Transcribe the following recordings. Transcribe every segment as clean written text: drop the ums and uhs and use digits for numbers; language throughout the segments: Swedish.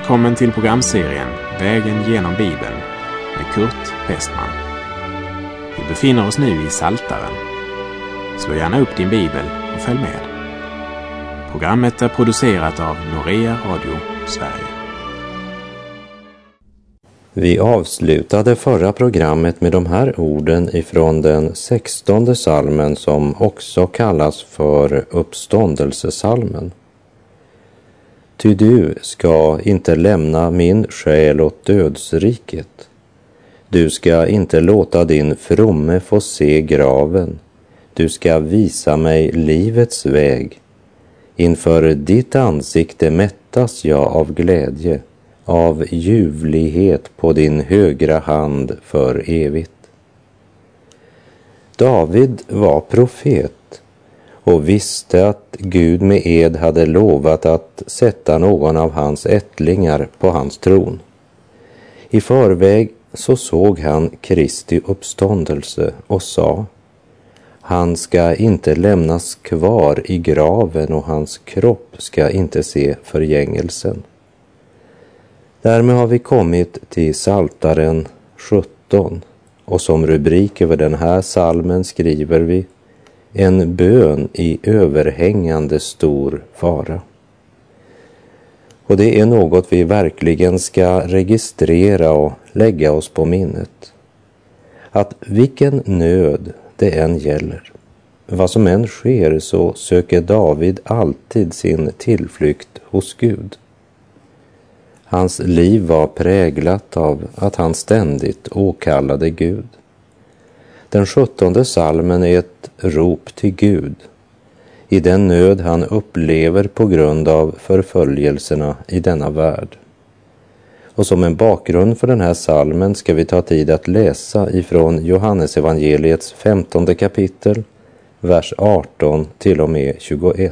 Välkommen till programserien Vägen genom Bibeln med Kurt Westman. Vi befinner oss nu i Psaltaren. Slå gärna upp din bibel och följ med. Programmet är producerat av Norea Radio Sverige. Vi avslutade förra programmet med de här orden ifrån den 16:e psalmen som också kallas för uppståndelsesalmen. Ty du ska inte lämna min själ åt dödsriket. Du ska inte låta din fromme få se graven. Du ska visa mig livets väg. Inför ditt ansikte mättas jag av glädje, av ljuvlighet på din högra hand för evigt. David var profet och visste att Gud med ed hade lovat att sätta någon av hans ättlingar på hans tron. I förväg så såg han Kristi uppståndelse och sa: han ska inte lämnas kvar i graven och hans kropp ska inte se förgängelsen. Därmed har vi kommit till Psaltaren 17 och som rubrik över den här psalmen skriver vi: en bön i överhängande stor fara. Och det är något vi verkligen ska registrera och lägga oss på minnet. Att vilken nöd det än gäller, vad som än sker, så söker David alltid sin tillflykt hos Gud. Hans liv var präglat av att han ständigt åkallade Gud. Den 17:e psalmen är ett rop till Gud i den nöd han upplever på grund av förföljelserna i denna värld. Och som en bakgrund för den här psalmen ska vi ta tid att läsa ifrån Johannesevangeliets 15:e kapitel, vers 18 till och med 21.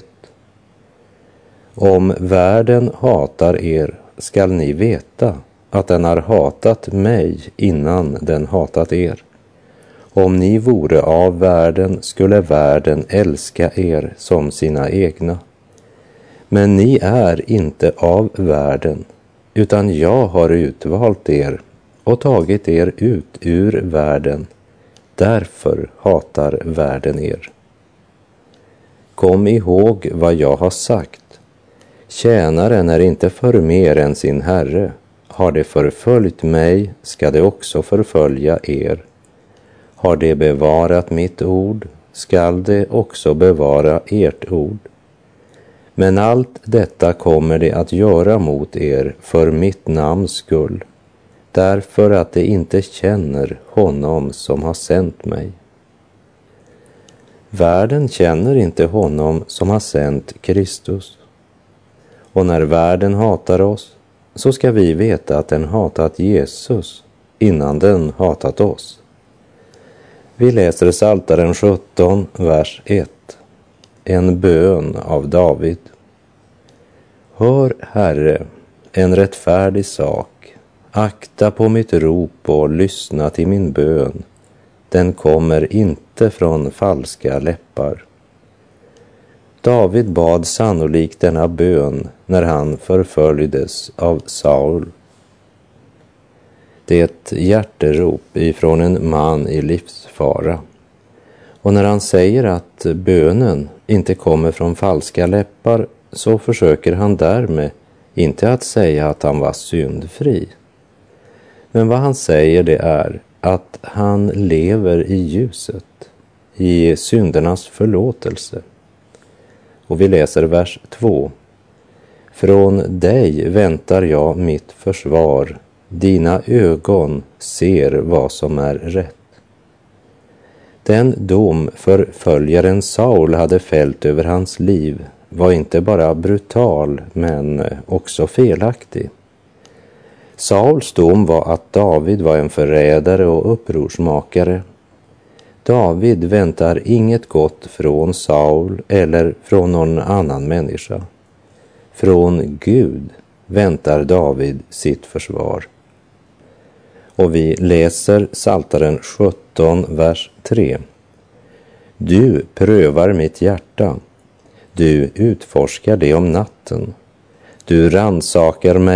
Om världen hatar er skall ni veta att den har hatat mig innan den hatat er. Om ni vore av världen skulle världen älska er som sina egna. Men ni är inte av världen, utan jag har utvalt er och tagit er ut ur världen. Därför hatar världen er. Kom ihåg vad jag har sagt. Tjänaren är inte för mer än sin herre. Har det förföljt mig ska det också förfölja er. Har det bevarat mitt ord skall det också bevara ert ord. Men allt detta kommer det att göra mot er för mitt namns skull, därför att det inte känner honom som har sänt mig. Världen känner inte honom som har sänt Kristus. Och när världen hatar oss så ska vi veta att den hatat Jesus innan den hatat oss. Vi läser Psaltaren 17, vers 1. En bön av David. Hör, Herre, en rättfärdig sak. Akta på mitt rop och lyssna till min bön. Den kommer inte från falska läppar. David bad sannolikt denna bön när han förföljdes av Saul. Det är ett hjärterop ifrån en man i livsfara. Och när han säger att bönen inte kommer från falska läppar så försöker han därmed inte att säga att han var syndfri. Men vad han säger det är att han lever i ljuset, i syndernas förlåtelse. Och vi läser vers 2. Från dig väntar jag mitt försvar. Dina ögon ser vad som är rätt. Den dom förföljaren Saul hade fällt över hans liv var inte bara brutal men också felaktig. Sauls dom var att David var en förrädare och upprorsmakare. David väntar inget gott från Saul eller från någon annan människa. Från Gud väntar David sitt försvar. Och vi läser Psaltaren 17, vers 3. Du prövar mitt hjärta. Du utforskar det om natten. Du rannsakar mig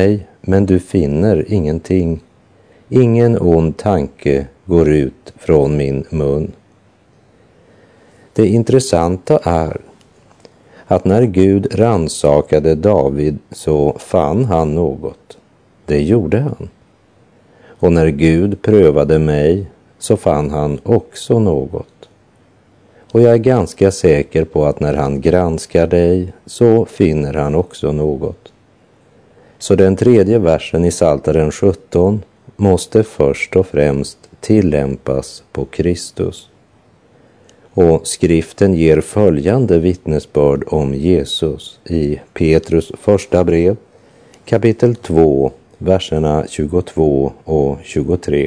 men du finner ingenting. Ingen ond tanke går ut från min mun. Det intressanta är att när Gud rannsakade David så fann han något. Det gjorde han. Och när Gud prövade mig så fann han också något. Och jag är ganska säker på att när han granskar dig så finner han också något. Så den 3:e versen i Psaltaren 17 måste först och främst tillämpas på Kristus. Och skriften ger följande vittnesbörd om Jesus i Petrus första brev, kapitel 2, verserna 22 och 23.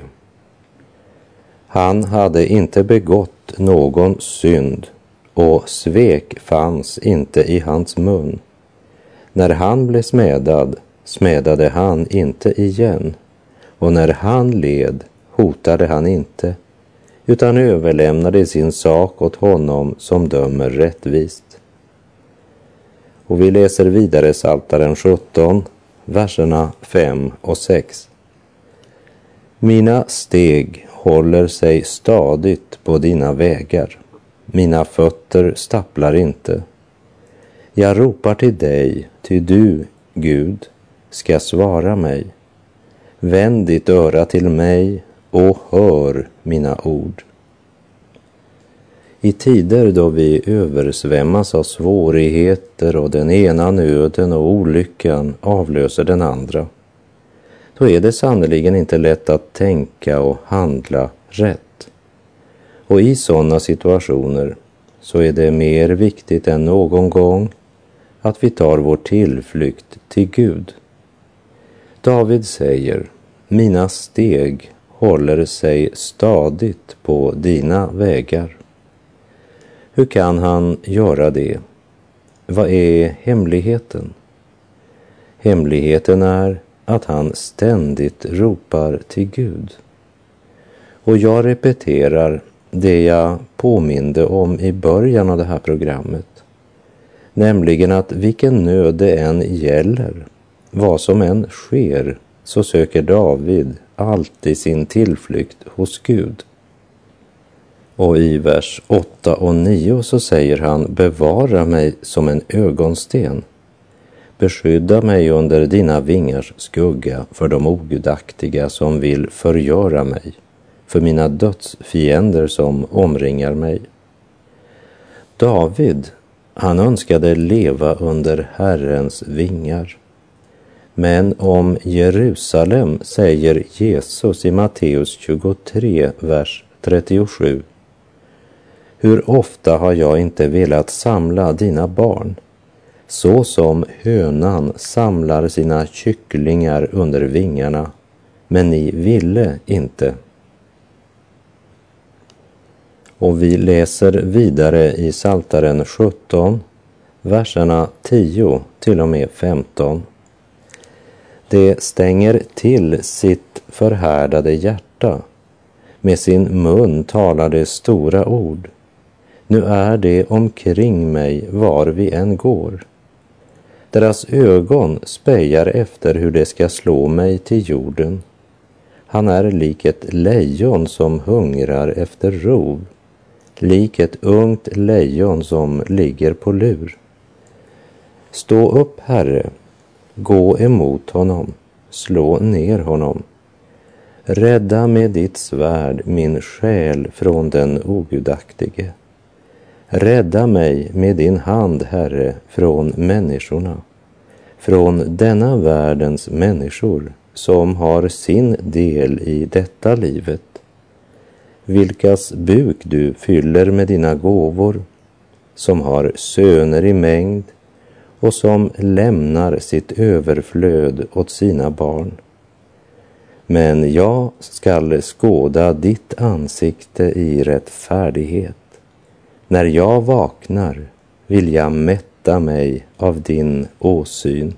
Han hade inte begått någon synd och svek fanns inte i hans mun. När han blev smädad, smädade han inte igen, och när han led, hotade han inte, utan överlämnade sin sak åt honom som dömer rättvist. Och vi läser vidare Psaltaren 17, verserna 5 och 6. Mina steg håller sig stadigt på dina vägar. Mina fötter stapplar inte. Jag ropar till dig, ty du, Gud, ska svara mig. Vänd ditt öra till mig och hör mina ord. I tider då vi översvämmas av svårigheter och den ena nöden och olyckan avlöser den andra, då är det sannoliken inte lätt att tänka och handla rätt. Och i sådana situationer så är det mer viktigt än någon gång att vi tar vår tillflykt till Gud. David säger, mina steg håller sig stadigt på dina vägar. Hur kan han göra det? Vad är hemligheten? Hemligheten är att han ständigt ropar till Gud. Och jag repeterar det jag påminde om i början av det här programmet. Nämligen att vilken nöd det än gäller, vad som än sker, så söker David alltid sin tillflykt hos Gud. Och i vers 8 och 9 så säger han, bevara mig som en ögonsten. Beskydda mig under dina vingars skugga för de ogudaktiga som vill förgöra mig, för mina dödsfiender som omringar mig. David, han önskade leva under Herrens vingar. Men om Jerusalem säger Jesus i Matteus 23, vers 37. Hur ofta har jag inte velat samla dina barn, så som hönan samlar sina kycklingar under vingarna, men ni ville inte. Och vi läser vidare i Psaltaren 17, verserna 10 till och med 15. Det stänger till sitt förhärdade hjärta. Med sin mun talar det stora ord. Nu är det omkring mig var vi än går. Deras ögon spejar efter hur det ska slå mig till jorden. Han är lik ett lejon som hungrar efter rov, lik ett ungt lejon som ligger på lur. Stå upp, Herre, gå emot honom, slå ner honom. Rädda med ditt svärd min själ från den ogudaktige. Rädda mig med din hand, Herre, från människorna, från denna världens människor som har sin del i detta livet, vilkas buk du fyller med dina gåvor, som har söner i mängd och som lämnar sitt överflöd åt sina barn. Men jag skall skåda ditt ansikte i rättfärdighet. När jag vaknar vill jag mätta mig av din åsyn.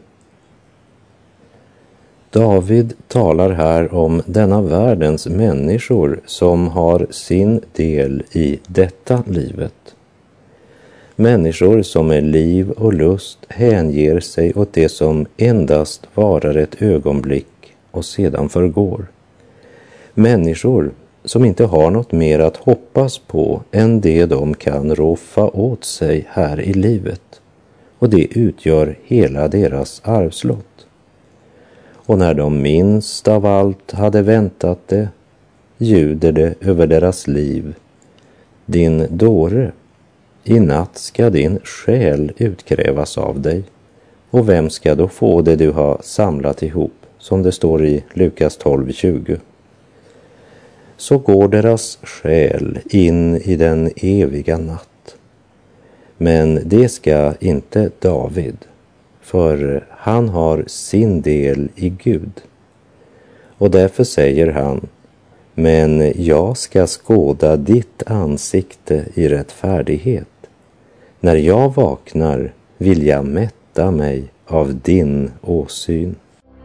David talar här om denna världens människor som har sin del i detta livet. Människor som med liv och lust hänger sig åt det som endast varar ett ögonblick och sedan förgår. Människor som inte har något mer att hoppas på än det de kan roffa åt sig här i livet. Och det utgör hela deras arvslott. Och när de minst av allt hade väntat det, ljuder det över deras liv: din dåre, i natt ska din själ utkrävas av dig. Och vem ska då få det du har samlat ihop, som det står i Lukas 12:20. Så går deras själ in i den eviga natt. Men det ska inte David, för han har sin del i Gud. Och därför säger han: men jag ska skåda ditt ansikte i rättfärdighet. När jag vaknar vill jag mätta mig av din åsyn.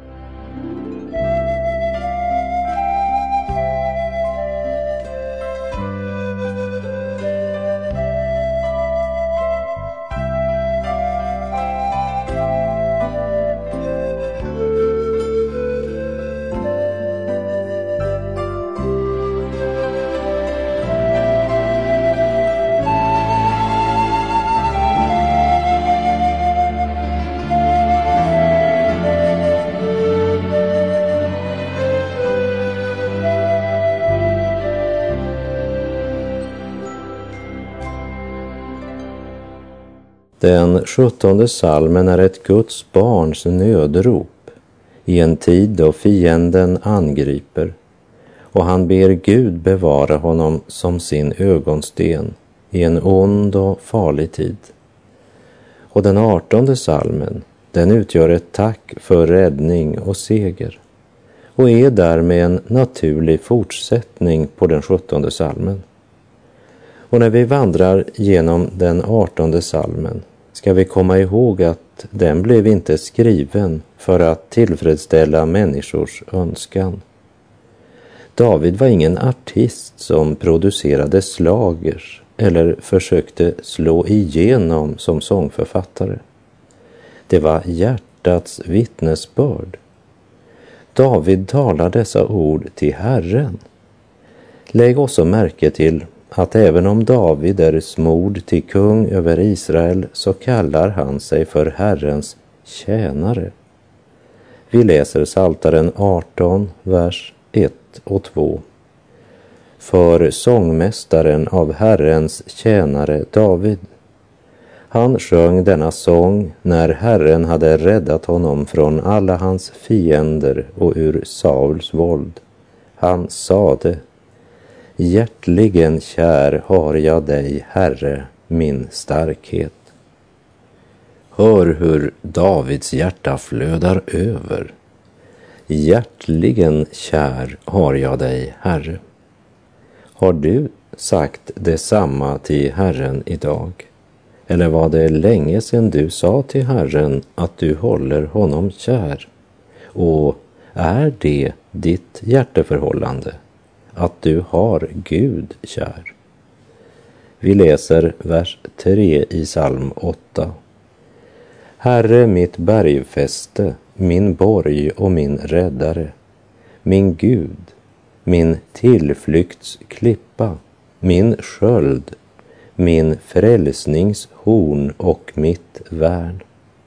Den 17:e psalmen är ett Guds barns nödrop i en tid då fienden angriper, och han ber Gud bevara honom som sin ögonsten i en ond och farlig tid. Och den 18:e psalmen, den utgör ett tack för räddning och seger och är därmed en naturlig fortsättning på den 17:e psalmen. Och när vi vandrar genom den 18:e psalmen ska vi komma ihåg att den blev inte skriven för att tillfredsställa människors önskan. David var ingen artist som producerade slagers eller försökte slå igenom som sångförfattare. Det var hjärtats vittnesbörd. David talar dessa ord till Herren. Lägg också märke till att även om David är smord till kung över Israel, så kallar han sig för Herrens tjänare. Vi läser Psaltaren 18, vers 1 och 2. För sångmästaren av Herrens tjänare David. Han sjöng denna sång när Herren hade räddat honom från alla hans fiender och ur Sauls våld. Han sade: hjärtligen kär har jag dig, Herre, min starkhet. Hör hur Davids hjärta flödar över. Hjärtligen kär har jag dig, Herre. Har du sagt detsamma till Herren idag? Eller var det länge sedan du sa till Herren att du håller honom kär? Och är det ditt hjärteförhållande, att du har Gud kär? Vi läser vers 3 i psalm 8. Herre, mitt bergfäste, min borg och min räddare, min Gud, min tillflyktsklippa, min sköld, min frälsningshorn och mitt värn.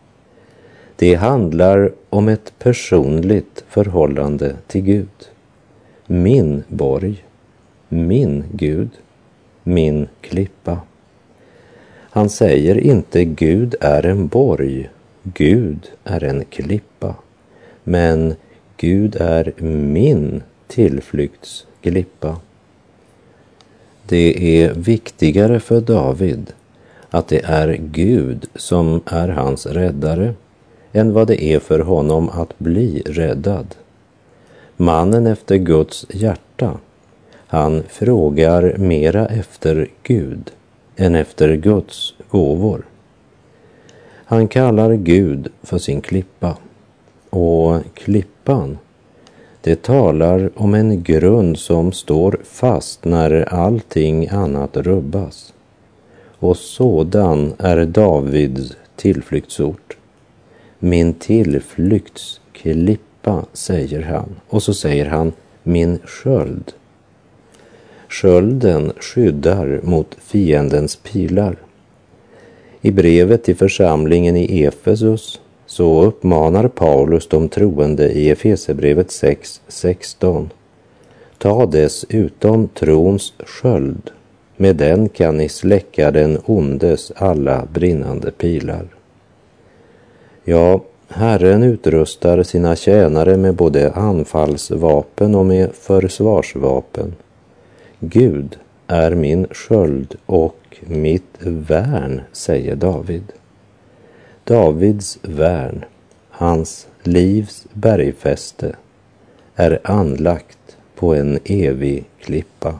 Det handlar om ett personligt förhållande till Gud. Min borg, min Gud, min klippa. Han säger inte Gud är en borg, Gud är en klippa, men Gud är min tillflyktsklippa. Det är viktigare för David att det är Gud som är hans räddare än vad det är för honom att bli räddad. Mannen efter Guds hjärta, han frågar mera efter Gud än efter Guds gåvor. Han kallar Gud för sin klippa, och klippan, det talar om en grund som står fast när allting annat rubbas. och sådan är Davids tillflyktsort. Min tillflyktsklippa, säger han. Och så säger han min sköld. Skölden skyddar mot fiendens pilar. I brevet till församlingen i Efesus så uppmanar Paulus de troende i Efesierbrevet 6:16. Ta dessutom trons sköld, med den kan ni släcka den ondes alla brinnande pilar. Ja, Herren utrustar sina tjänare med både anfallsvapen och med försvarsvapen. Gud är min sköld och mitt värn, säger David. Davids värn, hans livs bergfäste, är anlagt på en evig klippa.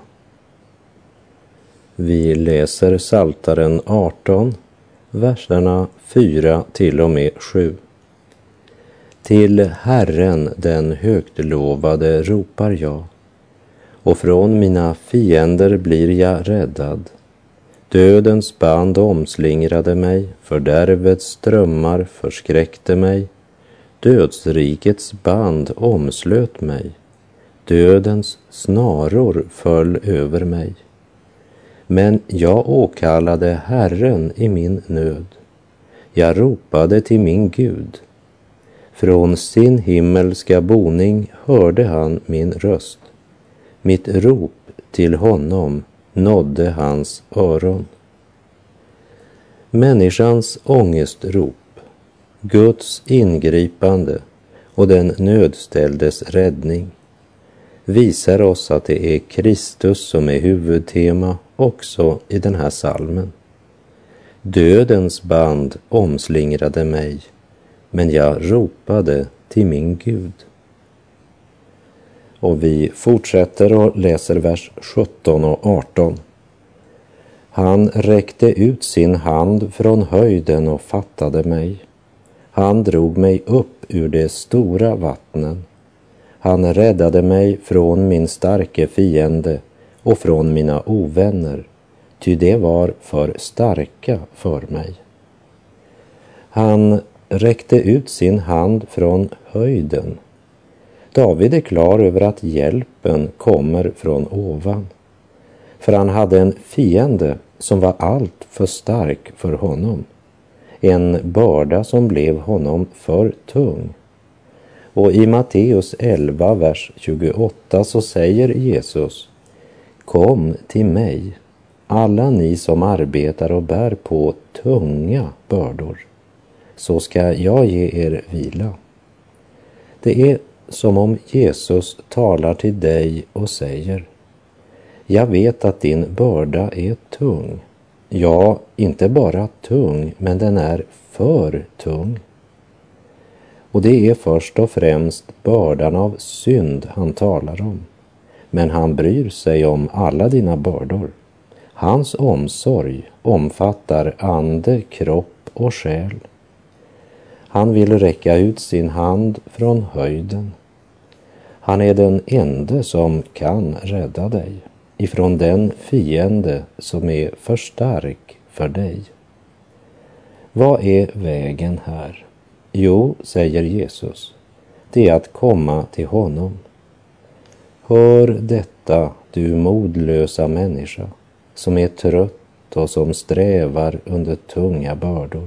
Vi läser Psaltaren 18, verserna 4 till och med 7. Till Herren den högtlovade ropar jag, och från mina fiender blir jag räddad. Dödens band omslingrade mig, fördärvets strömmar förskräckte mig. Dödsrikets band omslöt mig, dödens snaror föll över mig. Men jag åkallade Herren i min nöd. Jag ropade till min Gud. Från sin himmelska boning hörde han min röst. Mitt rop till honom nådde hans öron. Människans ångestrop, Guds ingripande och den nödställdes räddning visar oss att det är Kristus som är huvudtema också i den här salmen. Dödens band omslingrade mig, men jag ropade till min Gud. Och vi fortsätter och läser vers 17 och 18. Han räckte ut sin hand från höjden och fattade mig. Han drog mig upp ur de stora vattnen. Han räddade mig från min starke fiende och från mina ovänner, ty det var för starka för mig. Han räckte ut sin hand från höjden. David är klar över att hjälpen kommer från ovan, för han hade en fiende som var allt för stark för honom, en börda som blev honom för tung. Och i Matteus 11, vers 28 så säger Jesus: Kom till mig, alla ni som arbetar och bär på tunga bördor, så ska jag ge er vila. Det är som om Jesus talar till dig och säger: Jag vet att din börda är tung. Ja, inte bara tung, men den är för tung. Och det är först och främst bördan av synd han talar om. Men han bryr sig om alla dina bördor. Hans omsorg omfattar ande, kropp och själ. Han vill räcka ut sin hand från höjden. Han är den ende som kan rädda dig ifrån den fiende som är för stark för dig. Vad är vägen här? Jo, säger Jesus, det är att komma till honom. Hör detta, du modlösa människa, som är trött och som strävar under tunga bördor.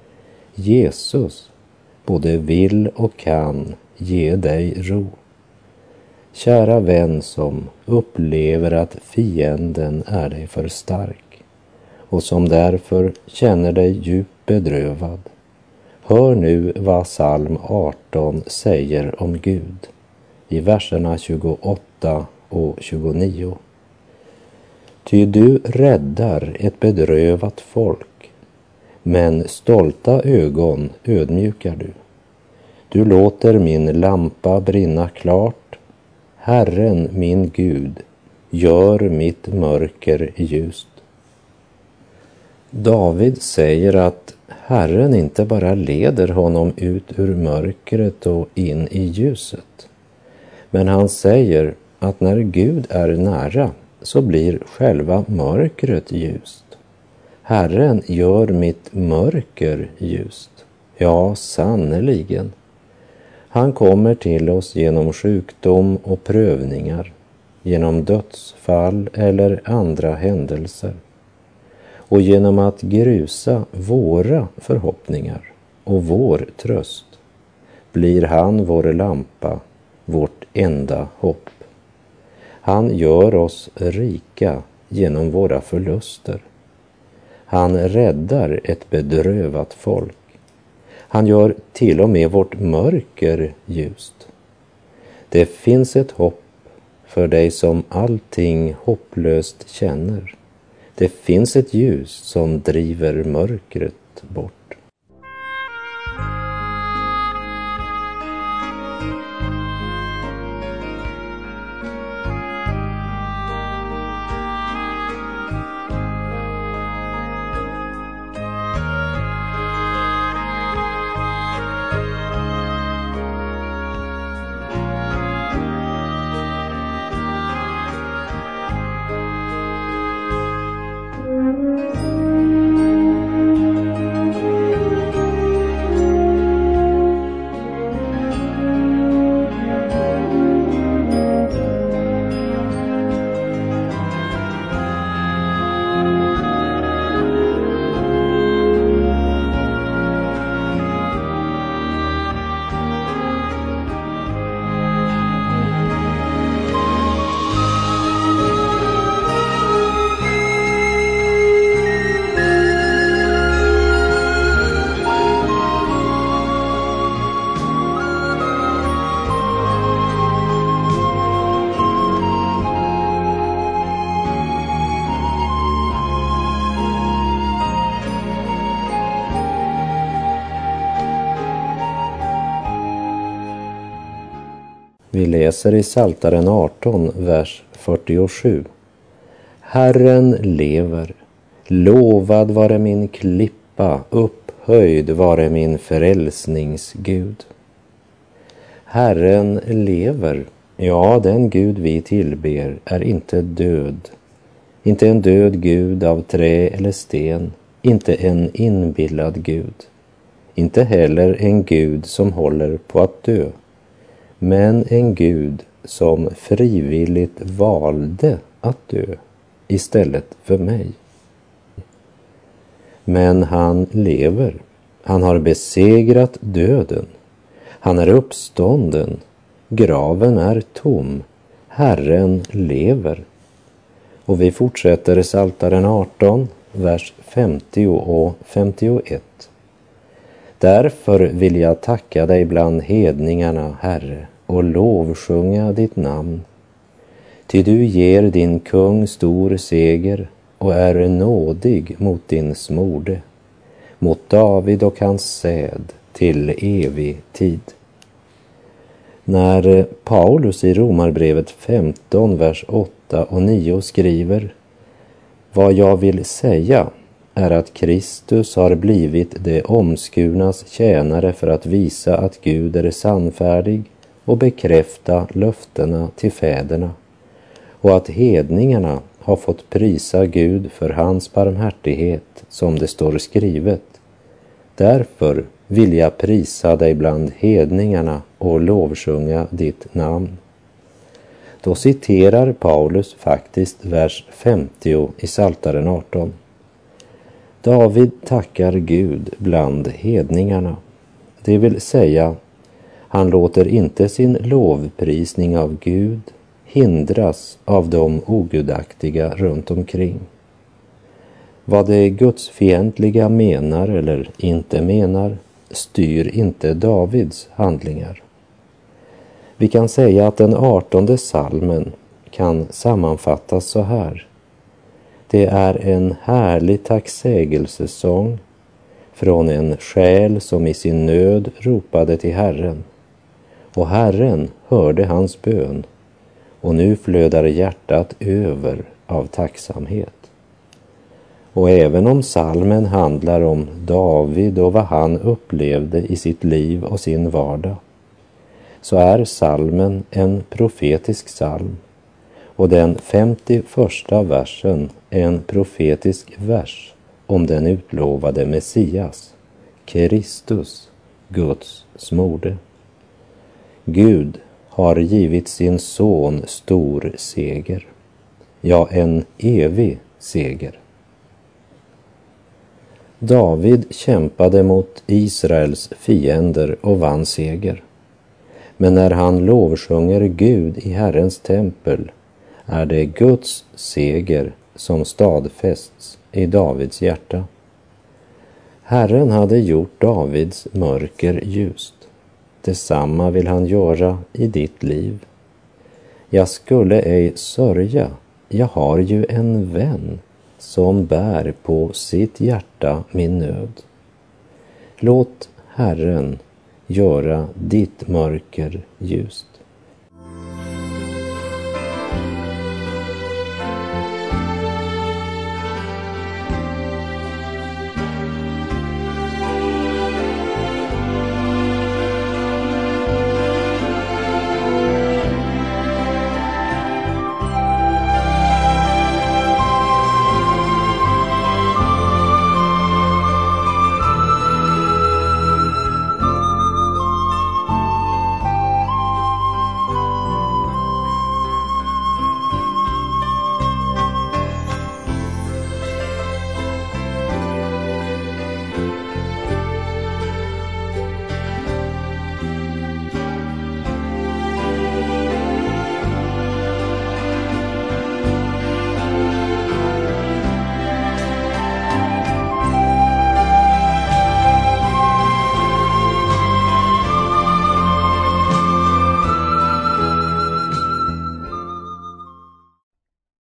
Jesus både vill och kan ge dig ro. Kära vän som upplever att fienden är dig för stark och som därför känner dig djupt bedrövad. Hör nu vad psalm 18 säger om Gud i verserna 28 och 29. Ty du räddar ett bedrövat folk, men stolta ögon ödmjukar du. Du låter min lampa brinna klart. Herren min Gud gör mitt mörker ljust. David säger att Herren inte bara leder honom ut ur mörkret och in i ljuset. Men han säger att när Gud är nära så blir själva mörkret ljust. Herren gör mitt mörker ljust. Ja, sannerligen. Han kommer till oss genom sjukdom och prövningar, genom dödsfall eller andra händelser, och genom att grusa våra förhoppningar och vår tröst blir han vår lampa, vårt enda hopp. Han gör oss rika genom våra förluster. Han räddar ett bedrövat folk. Han gör till och med vårt mörker ljust. Det finns ett hopp för dig som allting hopplöst känner. Det finns ett ljus som driver mörkret bort. Vi läser i Psaltaren 18, vers 47. Herren lever, lovad vare min klippa, upphöjd vare min frälsningsgud. Herren lever, ja, den Gud vi tillber är inte död. Inte en död Gud av trä eller sten, inte en inbillad Gud. Inte heller en Gud som håller på att dö. Men en Gud som frivilligt valde att dö istället för mig. Men han lever. Han har besegrat döden. Han är uppstånden. Graven är tom. Herren lever. Och vi fortsätter Psaltaren 18, vers 50 och 51. Därför vill jag tacka dig bland hedningarna, Herre, och lovsjunga ditt namn. Ty du ger din kung stor seger och är nådig mot din smorde, mot David och hans säd till evig tid. När Paulus i Romarbrevet 15, vers 8 och 9 skriver: Vad jag vill säga är att Kristus har blivit det omskurnas tjänare för att visa att Gud är sannfärdig och bekräfta löftena till fäderna, och att hedningarna har fått prisa Gud för hans barmhärtighet, som det står skrivet. Därför vill jag prisa dig bland hedningarna och lovsjunga ditt namn. Då citerar Paulus faktiskt vers 50 i Psaltaren 18. David tackar Gud bland hedningarna. Det vill säga, han låter inte sin lovprisning av Gud hindras av de ogudaktiga runt omkring. Vad det gudsfientliga menar eller inte menar styr inte Davids handlingar. Vi kan säga att den 18:e psalmen kan sammanfattas så här. Det är en härlig tacksägelsesång från en själ som i sin nöd ropade till Herren. Och Herren hörde hans bön, och nu flödar hjärtat över av tacksamhet. Och även om psalmen handlar om David och vad han upplevde i sitt liv och sin vardag, så är psalmen en profetisk psalm, och den 51:a versen är en profetisk vers om den utlovade Messias, Kristus, Guds smorde. Gud har givit sin son stor seger, ja, en evig seger. David kämpade mot Israels fiender och vann seger. Men när han lovsjunger Gud i Herrens tempel är det Guds seger som stadfästs i Davids hjärta. Herren hade gjort Davids mörker ljust. Detsamma vill han göra i ditt liv. Jag skulle ej sörja, jag har ju en vän som bär på sitt hjärta min nöd. Låt Herren göra ditt mörker ljust.